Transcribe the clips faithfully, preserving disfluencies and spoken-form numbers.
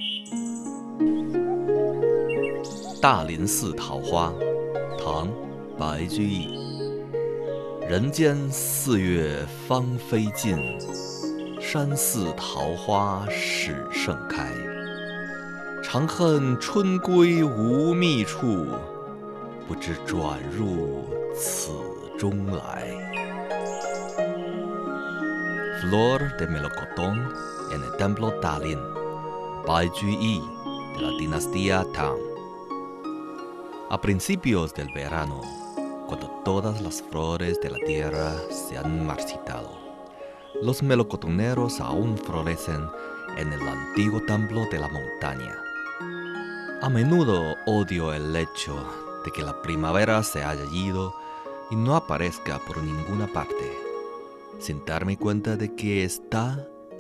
大林寺桃花，唐·白居易。人间四月芳菲尽，山寺桃花始盛开。长恨春归无觅处，不知转入此中来。Flor de melocotón en el templo Dalian, Bai Juyi, de la dinastía Tang. A principios del verano, cuando todas las flores de la tierra se han marchitado, los melocotoneros aún florecen en el antiguo templo de la montaña. A menudo odio el hecho de que la primavera se haya ido y no aparezca por ninguna parte, sin darme cuenta de que está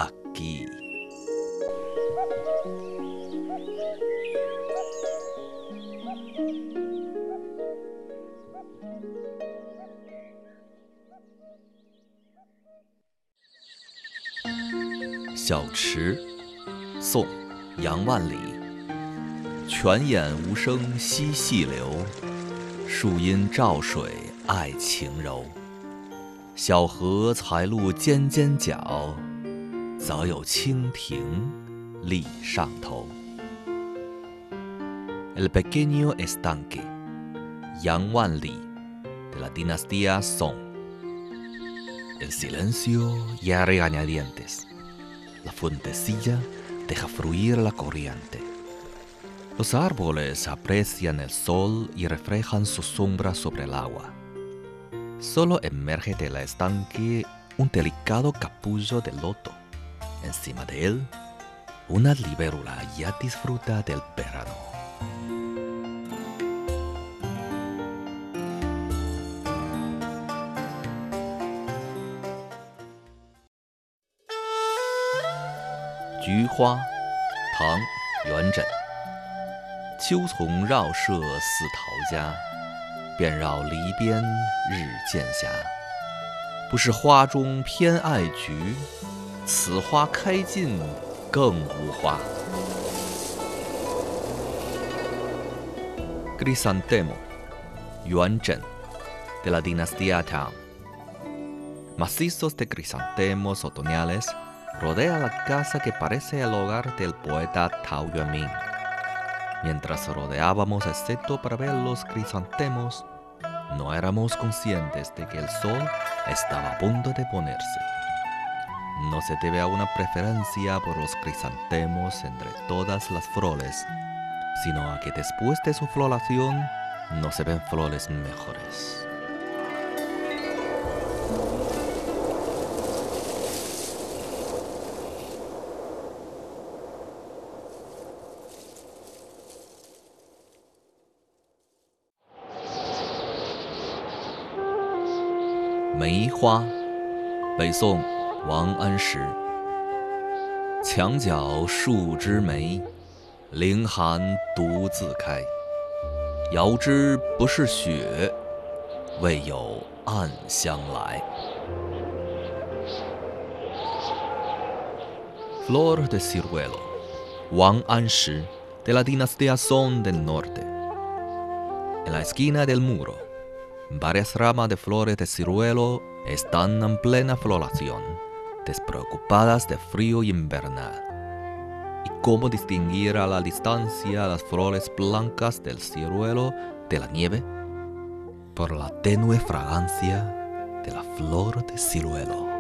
aquí.《小池》宋·杨万里。泉眼无声惜细流，树阴照水爱晴柔。小荷才露尖尖角，早有蜻蜓立上头。El pequeño estanque, Yang Wanli, de la dinastía Song. El silencio ya regañadientes. La fuentecilla deja fluir la corriente. Los árboles aprecian el sol y reflejan su sombra sobre el agua. Solo emerge del estanque un delicado capullo de loto. Encima de él, una libélula ya disfruta del verano.《菊花》唐·元稹。秋丛绕舍似陶家，遍绕篱边日渐斜。不是花中偏爱菊，此花开尽更无花。Crisantemo, 元稹 de la dinastía Tang. Macizos de crisantemos otoñales rodea la casa que parece el hogar del poeta Tao Yuanming. Mientras rodeábamos el seto para ver los crisantemos, no éramos conscientes de que el sol estaba a punto de ponerse. No se debe a una preferencia por los crisantemos entre todas las flores, sino a que después de su floración no se ven flores mejores.《梅花》北宋王安石。墙角数枝梅，凌寒独自开。遥知不是雪，为有暗香来。Flor de ciruelo, 王安石 de la dinastía Song del Norte. En la esquina del muro, varias ramas de flores de ciruelo están en plena floración, despreocupadas de frío invernal. ¿Y cómo distinguir a la distancia las flores blancas del ciruelo de la nieve? Por la tenue fragancia de la flor de ciruelo.